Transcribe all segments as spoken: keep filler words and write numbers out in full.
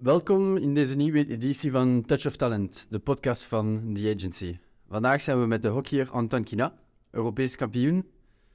Welkom in deze nieuwe editie van Touch of Talent, de podcast van The Agency. Vandaag zijn we met de hockeyer Anton Kina, Europees kampioen,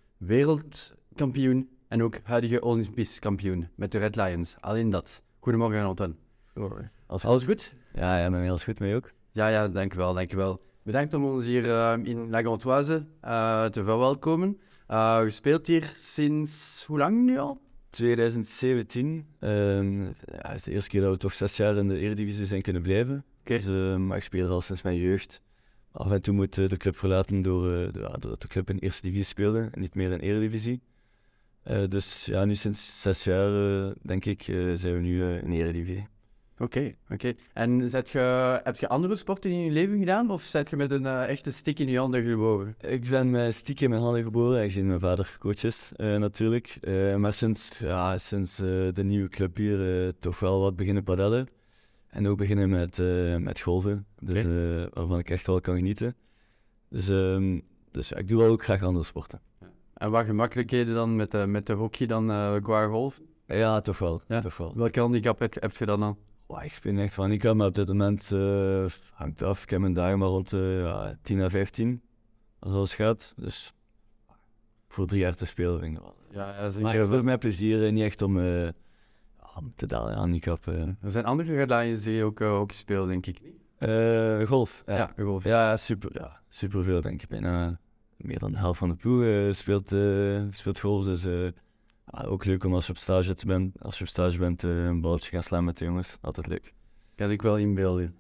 wereldkampioen en ook huidige Olympisch kampioen met de Red Lions. Alleen dat. Goedemorgen Anton. Goedemorgen. Alles, Alles goed? Ja, ja, met mij alles goed, mee ook. Ja, ja, dankjewel, dankjewel. Bedankt om ons hier uh, in La Gantoise uh, te verwelkomen. Uh, je speelt hier sinds hoe lang nu al? twintig zeventien. Um, ja, het is de eerste keer dat we toch zes jaar in de Eredivisie zijn kunnen blijven. Okay. Dus, uh, maar ik speel er al sinds mijn jeugd. Af en toe moet uh, de club verlaten door, uh, de, doordat de club in de eerste divisie speelde en niet meer in de Eredivisie. Uh, dus ja, nu sinds zes jaar, uh, denk ik, uh, zijn we nu uh, in de Eredivisie. Oké, okay, oké. Okay. En zet je, heb je andere sporten in je leven gedaan of zet je met een uh, echte stick in je handen geboren? Ik ben met stick in mijn handen geboren, aangezien mijn vader coach is, uh, natuurlijk. Uh, maar sinds, ja, sinds uh, de nieuwe club hier uh, toch wel wat beginnen padellen. En ook beginnen met, uh, met golven, dus, uh, waarvan ik echt wel kan genieten. Dus, um, dus ja, ik doe wel ook graag andere sporten. En wat gemakkelijkheden dan met de, met de hockey dan uh, qua golf? Ja, toch wel. Ja. Toch wel. Welke handicap heb, heb je dan dan? Oh, ik speel echt van handicap, maar op dit moment uh, hangt af. Ik heb mijn dagen maar rond uh, ja, tien à vijftien, als alles gaat. Dus voor drie jaar te spelen vind ik wel. Ja, ja, maar ja, voor mij plezier, niet echt om, uh, om te dalen handicap. Uh. Er zijn andere Red Lions die ook uh, hockey spelen, denk ik. Uh, golf. Ja, ja, golf. Ja, super, ja, super veel denk ik. Bijna meer dan de helft van de ploeg uh, speelt, uh, speelt golf, dus... Uh, Ja, ook leuk om als je op stage bent, als je op stage bent uh, een balletje gaan slaan met de jongens. Altijd leuk. Kan ik wel inbeelden.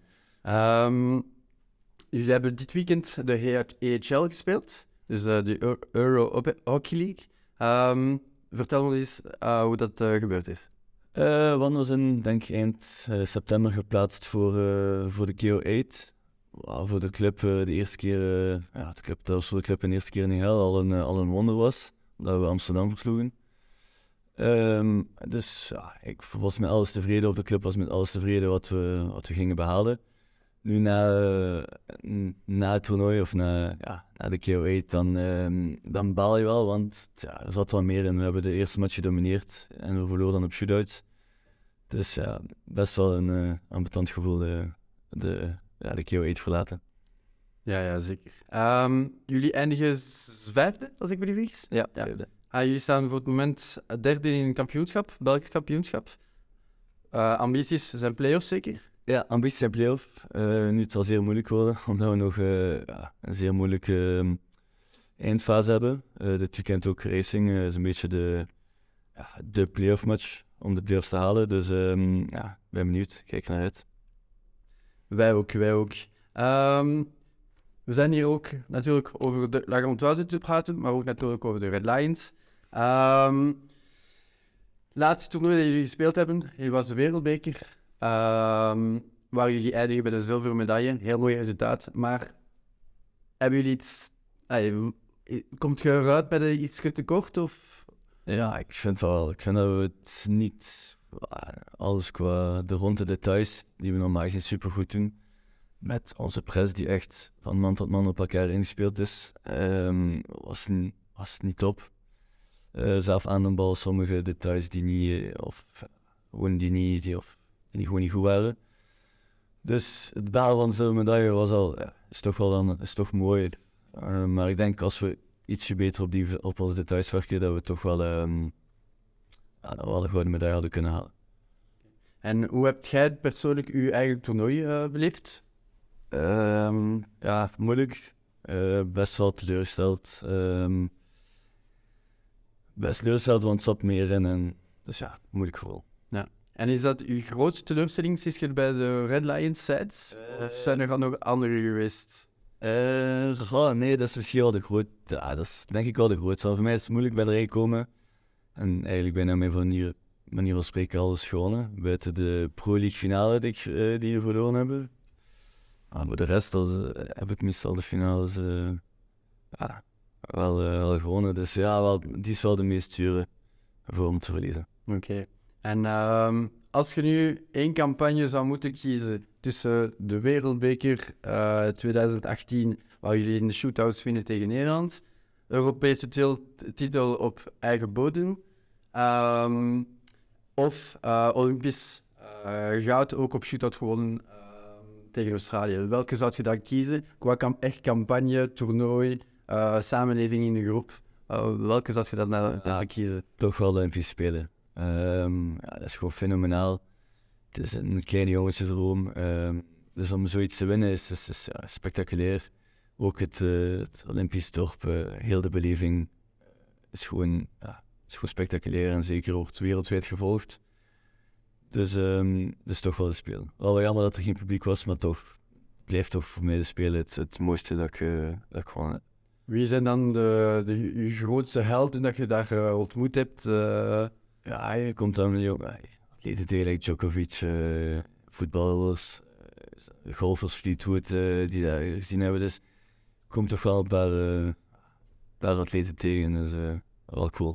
Um, jullie hebben dit weekend de E H L gespeeld, dus uh, de Euro Hockey League. Um, vertel me eens uh, hoe dat uh, gebeurd is. Uh, Wan was in, denk ik, eind uh, september geplaatst voor, uh, voor de K O acht. Wow, voor de club uh, de eerste keer, uh, ja, de club, dat was voor de club in de eerste keer in de hel al een, uh, al een wonder was, dat we Amsterdam versloegen. Um, dus ja, ik was met alles tevreden, of de club was met alles tevreden wat we, wat we gingen behalen. Nu na, uh, na het toernooi of na, ja, na de K O acht, dan, um, dan baal je wel, want ja, er zat wel meer in. We hebben de eerste match gedomineerd en we verloren dan op shootouts. Dus ja, best wel een uh, ambetant gevoel de, de, ja, de K O acht verlaten. Ja, ja, zeker. Um, jullie eindigen vijfde, als ik me niet vergis? Ja, vijfde. Ja. Ah, jullie staan voor het moment derde in een kampioenschap, Belgisch kampioenschap. Uh, ambities zijn play-offs zeker? Ja, ambities zijn play-off. Uh, nu het zal zeer moeilijk worden, omdat we nog uh, ja, een zeer moeilijke uh, eindfase hebben. Uh, dit weekend ook racing, uh, is een beetje de, ja, de play-off match om de play-offs te halen. Dus um, ja, ben benieuwd, kijk naar uit. Wij ook, wij ook. Um, we zijn hier ook natuurlijk over de La Gantoise te praten, maar ook natuurlijk over de Red Lions. Um, laatste toernooi dat jullie gespeeld hebben, hier was de Wereldbeker, um, waar jullie eindigen bij de zilveren medaille. Heel mooi resultaat, maar hebben jullie iets... Ay, komt je eruit met iets tekort? Of? Ja, ik vind wel. Ik vind dat we het niet... Alles qua de ronde details, die we normaal gezien supergoed doen. Met onze press die echt van man tot man op elkaar ingespeeld is, um, was, n- was niet top. Uh, zelf aan de bal, sommige details die niet, of gewoon die niet, die, of, die gewoon niet goed waren. Dus het behalen van de zilveren medaille was al, ja, is toch wel dan, is toch mooi. Uh, maar ik denk als we ietsje beter op, die, op onze details werken, dat we toch wel, um, ja, dat we wel een gouden medaille hadden kunnen halen. En hoe hebt jij persoonlijk je eigen toernooi uh, beleefd? Um, ja, moeilijk. Uh, best wel teleurgesteld. Um, best teleurgesteld, want het zat meer in. En, dus ja, moeilijk gevoel. Ja. En is dat uw grootste teleurstelling sinds je bij de Red Lions zit? Uh, of zijn er nog andere geweest? Uh, ja, nee, dat is misschien wel de grootste. Ja, dat is denk ik wel de grootste. Voor mij is het moeilijk bij de rij komen. En eigenlijk bijna mijn manier, manier van spreken alles gewonnen. Buiten de Pro League finale die, ik, uh, die we verloren hebben. Maar voor de rest als, uh, heb ik meestal de finales uh, ja, wel, uh, wel gewonnen. Dus ja, wel, die is wel de meest zure voor om te verliezen. Oké. Okay. En um, als je nu één campagne zou moeten kiezen tussen de Wereldbeker uh, twintig achttien, waar jullie in de shootouts winnen tegen Nederland, Europese til- titel op eigen bodem, um, of uh, Olympisch uh, goud ook op shootout gewonnen uh, tegen Australië. Welke zou je dan kiezen? Qua kam- echt campagne, toernooi, uh, samenleving in de groep. Uh, welke zou je dan uh, ja, kiezen? Toch wel de Olympische Spelen. Um, ja, dat is gewoon fenomenaal. Het is een kleine jongensdroom. Um, dus om zoiets te winnen is, is, is ja, spectaculair. Ook het, uh, het Olympisch dorp, uh, heel de beleving is gewoon, ja, is gewoon spectaculair en zeker wordt wereldwijd gevolgd. Dus um, dus toch wel de Spelen. Wel jammer dat er geen publiek was, maar toch blijft toch voor mij de Spelen het, het mooiste dat ik, uh, dat ik gewoon heb. Wie zijn dan de, de, de grootste helden dat je daar uh, ontmoet hebt? Uh... Ja, je komt dan met jongen, atleten tegen like Djokovic, uh, voetballers, uh, golfers, Fleetwood, uh, die daar gezien hebben. Dus komt toch wel een paar, uh, paar atleten tegen, dus uh, wel cool.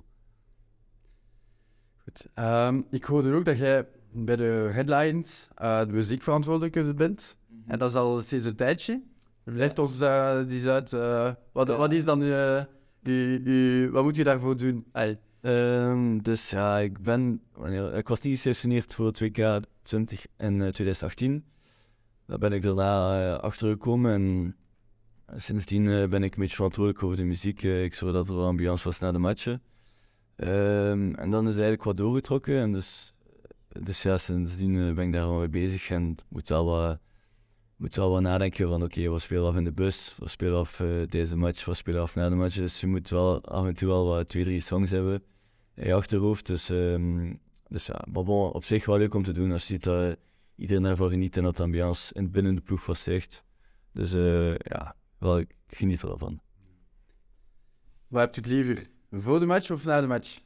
Goed. Um, ik hoorde ook dat jij bij de Red Lions uh, de muziekverantwoordelijke bent. Mm-hmm. En dat is al sinds een tijdje. Leg ons uh, die eens uit. Uh, wat, wat is dan uh, die, die, wat moet je daarvoor doen? Hey. Um, dus ja, ik ben, wanneer, ik was niet geselectioneerd voor het W K twintig en uh, twintig achttien. Daar ben ik daarna uh, achtergekomen en uh, sindsdien uh, ben ik een beetje verantwoordelijk over de muziek. Uh, ik zorg dat er wel ambiance was na de matchen. Um, en dan is eigenlijk wat doorgetrokken en dus, dus ja, sindsdien uh, ben ik daar wel mee bezig en moet wel wat, moet wel wat nadenken van oké, okay, wat spelen we af in de bus, wat spelen we af uh, deze match, wat spelen we af na de match. Dus je moet wel af en toe wel wat twee, drie songs hebben in je achterhoofd. Dus, um, dus ja, maar bon, op zich wel leuk om te doen als je ziet dat uh, iedereen ervoor geniet en dat de ambiance in binnen de ploeg was echt. Dus uh, ja, wel, ik geniet er wel van. Wat hebt u het liever? Voor de match of na de match?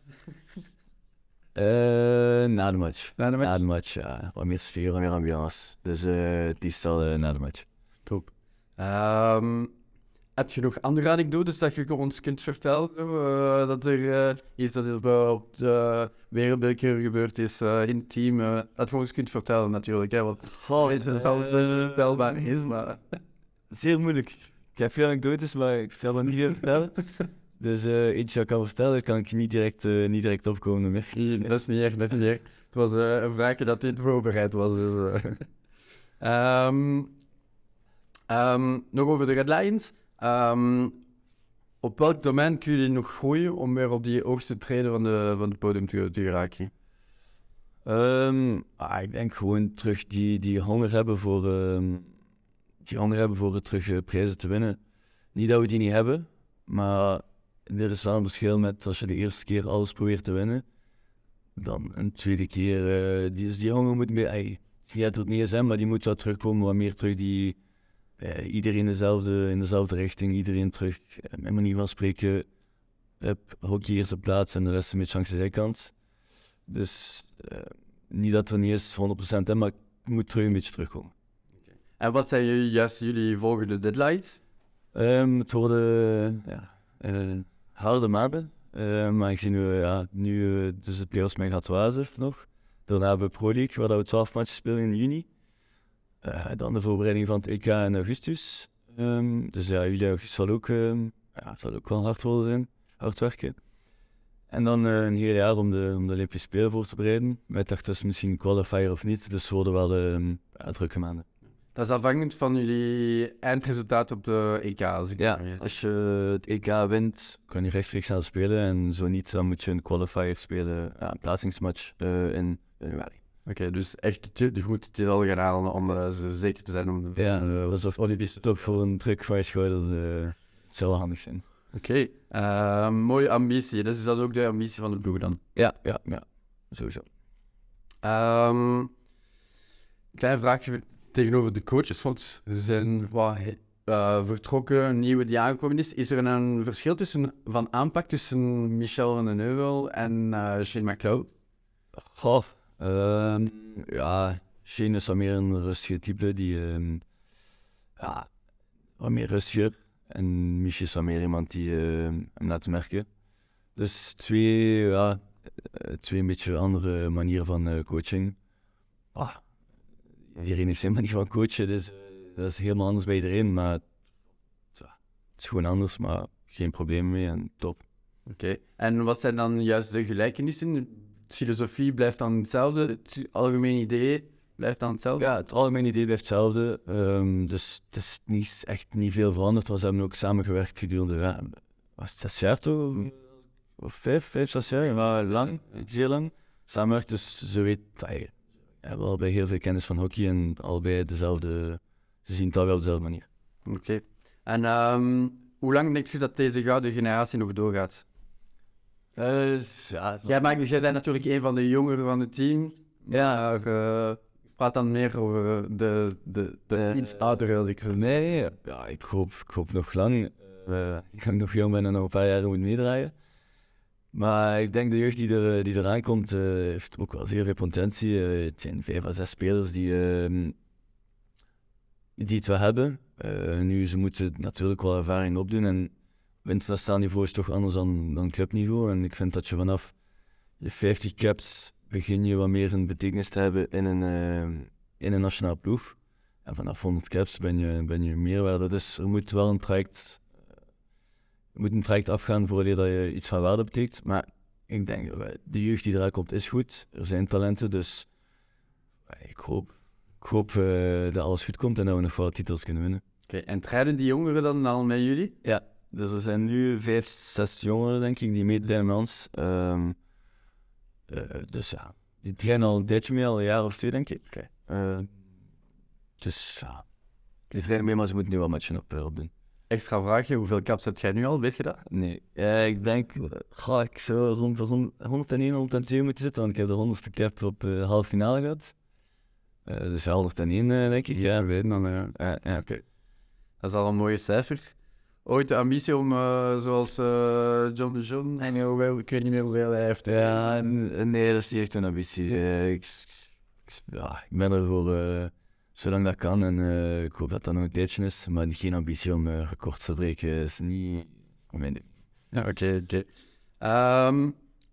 Uh, na de match. Na de match? Na de match, ja. Wat meer sfeer, wat meer ambiance. Dus uh, het liefst al uh, na de match. Top. Um, heb je nog andere anekdotes dat je ons kunt vertellen? Uh, dat er uh, iets dat er op de wereldbeker gebeurd is uh, in het team. Uh, dat je ons kunt vertellen natuurlijk. Hè, want Goh, weet je wel dat het vertelbaar is, maar... Zeer moeilijk. Ik heb veel anekdotes, maar ik zal dat niet meer vertellen. Dus uh, iets dat ik kan vertellen, kan ik niet direct, uh, niet direct opkomen meer. Nee, dat is niet erg, dat is niet erg. Het was uh, een vraagje dat dit voorbereid was. Dus, uh. um, um, nog over de Red Lions. Um, op welk domein kun je nog groeien om weer op die hoogste treden van, de, van het podium te, te geraken? Um, ah, ik denk gewoon terug die, die honger hebben voor, um, die honger hebben voor het terug uh, prijzen te winnen. Niet dat we die niet hebben, maar er is wel een verschil met als je de eerste keer alles probeert te winnen, dan een tweede keer, uh, die, die honger moet meer, ey, die gaat het niet eens zijn, maar die moet wel terugkomen, wat meer terug die, uh, iedereen dezelfde, in dezelfde richting, iedereen terug, uh, met manier van spreken, up, hockey eerste plaats en de rest een beetje langs de zijkant. Dus uh, niet dat er niet is honderd procent, hè, maar het moet terug een beetje terugkomen. Okay. En wat zijn jullie, juist jullie volgende deadlines? Um, het worden uh, ja, uh, harde maanden, uh, maar ik zie nu, uh, ja, nu uh, dus de playoffs met gaat Wazef nog. Daarna hebben we Pro League, waar we twaalf matchen spelen in juni. Uh, dan de voorbereiding van het E K in augustus. Um, dus ja, juli augustus zal ook, um, ja, zal ook wel hard worden zijn, hard werken. En dan uh, een heel jaar om de, om de Olympische Spelen voor te bereiden. Wij dachten dus misschien qualifier of niet, dus het worden wel um, ja, drukke maanden. Dat is afhankelijk van jullie eindresultaat op de E K. Als ik ja, als je het E K wint, kan je rechtstreeks gaan spelen. En zo niet, dan moet je een qualifier spelen, ja, een plaatsingsmatch uh, in januari. Oké, okay, dus echt de goede titel gaan halen om uh, zo zeker te zijn om de ja, uh, dat is toch Olympische toch voor een druk van je schouders. Uh, het zou wel handig zijn. Oké, okay. uh, mooie ambitie. Dus is dat ook de ambitie van de ploeg dan? Ja, ja, ja, sowieso. Um, klein vraagje tegenover de coaches, want ze zijn wat uh, vertrokken, een nieuwe die aangekomen is. Is er een verschil tussen, van aanpak tussen Michel van den Heuvel en uh, Shane McLeod? Goh, uh, ja, Shane is wat meer een rustige type, die um, ja, wat meer rustiger. En Michel is wat meer iemand die uh, hem laat merken. Dus twee, ja, twee een beetje andere manieren van uh, coaching. Ah, iedereen heeft zijn manier van coachen, dus uh, dat is helemaal anders bij iedereen. Maar ja, het is gewoon anders, maar geen probleem mee en top. Oké, okay. En wat zijn dan juist de gelijkenissen filosofie blijft dan hetzelfde, het algemeen idee blijft dan hetzelfde? Ja, het algemene idee blijft hetzelfde. Um, dus het is niet, echt niet veel veranderd. We hebben ook samengewerkt gedurende, ja, was het zes jaar toch? Of vijf, vijf, zes jaar? Maar lang, zeer lang. Samenwerkt, dus ze weet, we hebben allebei heel veel kennis van hockey en allebei dezelfde, ze zien het alweer op dezelfde manier. Oké. Okay. En um, hoe lang denk je dat deze gouden generatie nog doorgaat? Uh, ja, jij, maakt, jij bent natuurlijk een van de jongeren van het team. Ja. Maar uh, praat dan meer over de, de, de uh, iets oudere als ik... Nee, ja, ik hoop, ik hoop nog lang. Uh, ik ben nog jong ben en nog een paar jaar moet meedraaien. Maar ik denk de jeugd die, er, die eraan komt, uh, heeft ook wel zeer veel potentie. Uh, het zijn vijf à zes spelers die, uh, die het wel hebben. Uh, nu, ze moeten natuurlijk wel ervaring opdoen. En op internationaal niveau is het toch anders dan, dan clubniveau. En ik vind dat je vanaf je vijftig caps begin je wat meer een betekenis te hebben in een, uh, in een nationaal ploeg. En vanaf honderd caps ben je, ben je meerwaarde. Dus er moet wel een traject, uh, er moet een traject afgaan voordat je iets van waarde betekent. Maar ik denk, uh, de jeugd die eruit komt is goed. Er zijn talenten, dus uh, ik hoop, ik hoop uh, dat alles goed komt en dat we nog wel titels kunnen winnen. Oké, okay, en trainen die jongeren dan al met jullie? Ja, dus er zijn nu vijf, zes jongeren denk ik die meetrainen met ons. Um, uh, dus ja, die trainen al een tijdje mee, al een jaar of twee denk ik. Okay. Uh, dus ja, die trainen mee, maar ze moeten nu wel een matchen op, uh, op doen. Extra vraagje, hoeveel caps heb jij nu al, weet je dat? Nee, uh, ik denk, ga ik zou rond de honderdéén, honderdtwee moeten zitten, want ik heb de honderdste cap op uh, halve finale gehad. Uh, dus honderdéén uh, denk ik. Ja, weten dan. Ja, uh, ja oké. Okay. Dat is al een mooie cijfer. Ooit de ambitie om, uh, zoals uh, John de Jong, en hoeveel, ik weet niet meer hoeveel hij heeft. Ja, nee, dat is niet echt een ambitie. Uh, ik, ik, ja, ik ben er voor uh, zolang dat kan en uh, ik hoop dat dat nog een tijdje is, maar geen ambitie om uh, record te breken is niet mijn ding. Ja, oké, okay, oké. Okay. Um,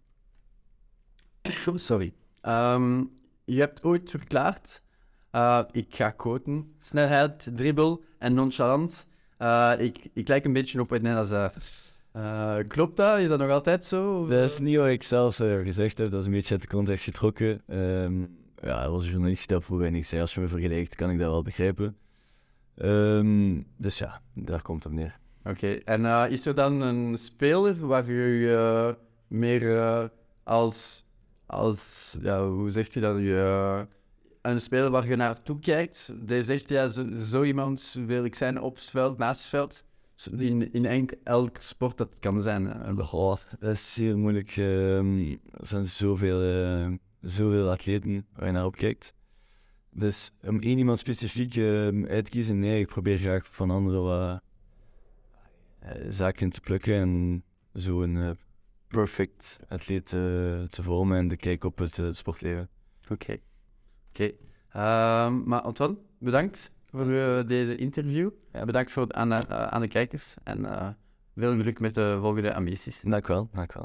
sorry. Um, je hebt ooit verklaard, uh, ik ga quoten, snelheid, dribbel en nonchalant. Uh, ik, ik lijk een beetje op Edna Hazard. Uh, klopt dat? Is dat nog altijd zo? Of? Dat is niet wat ik zelf uh, gezegd heb, dat is een beetje uit de context getrokken. Um, ja, er was een journalist die dat vroeg en ik zei, als je me vergelijkt, kan ik dat wel begrijpen. Um, dus ja, daar komt het op neer. Oké, okay. En uh, is er dan een speler waar je uh, meer uh, als, als ja, hoe zeg je dat, uh, een speler waar je naartoe kijkt, die zegt, ja, zo, zo iemand wil ik zijn op het veld, naast het veld, in, in enk, elk sport dat kan zijn. Uh, oh, dat is zeer moeilijk. Uh, er zijn zoveel, uh, zoveel atleten waar je naar op kijkt. Dus om één iemand specifiek uh, uit te kiezen, nee, ik probeer graag van anderen wat uh, zaken te plukken en zo een uh, perfect atleet uh, te vormen en de kijk op het, uh, het sportleven. Oké. Okay. Oké. Okay. Uh, maar Antoine, bedankt voor uh, deze interview. Ja, bedankt voor, aan, uh, aan de kijkers en uh, veel geluk met de volgende ambities. Dank wel, dank wel.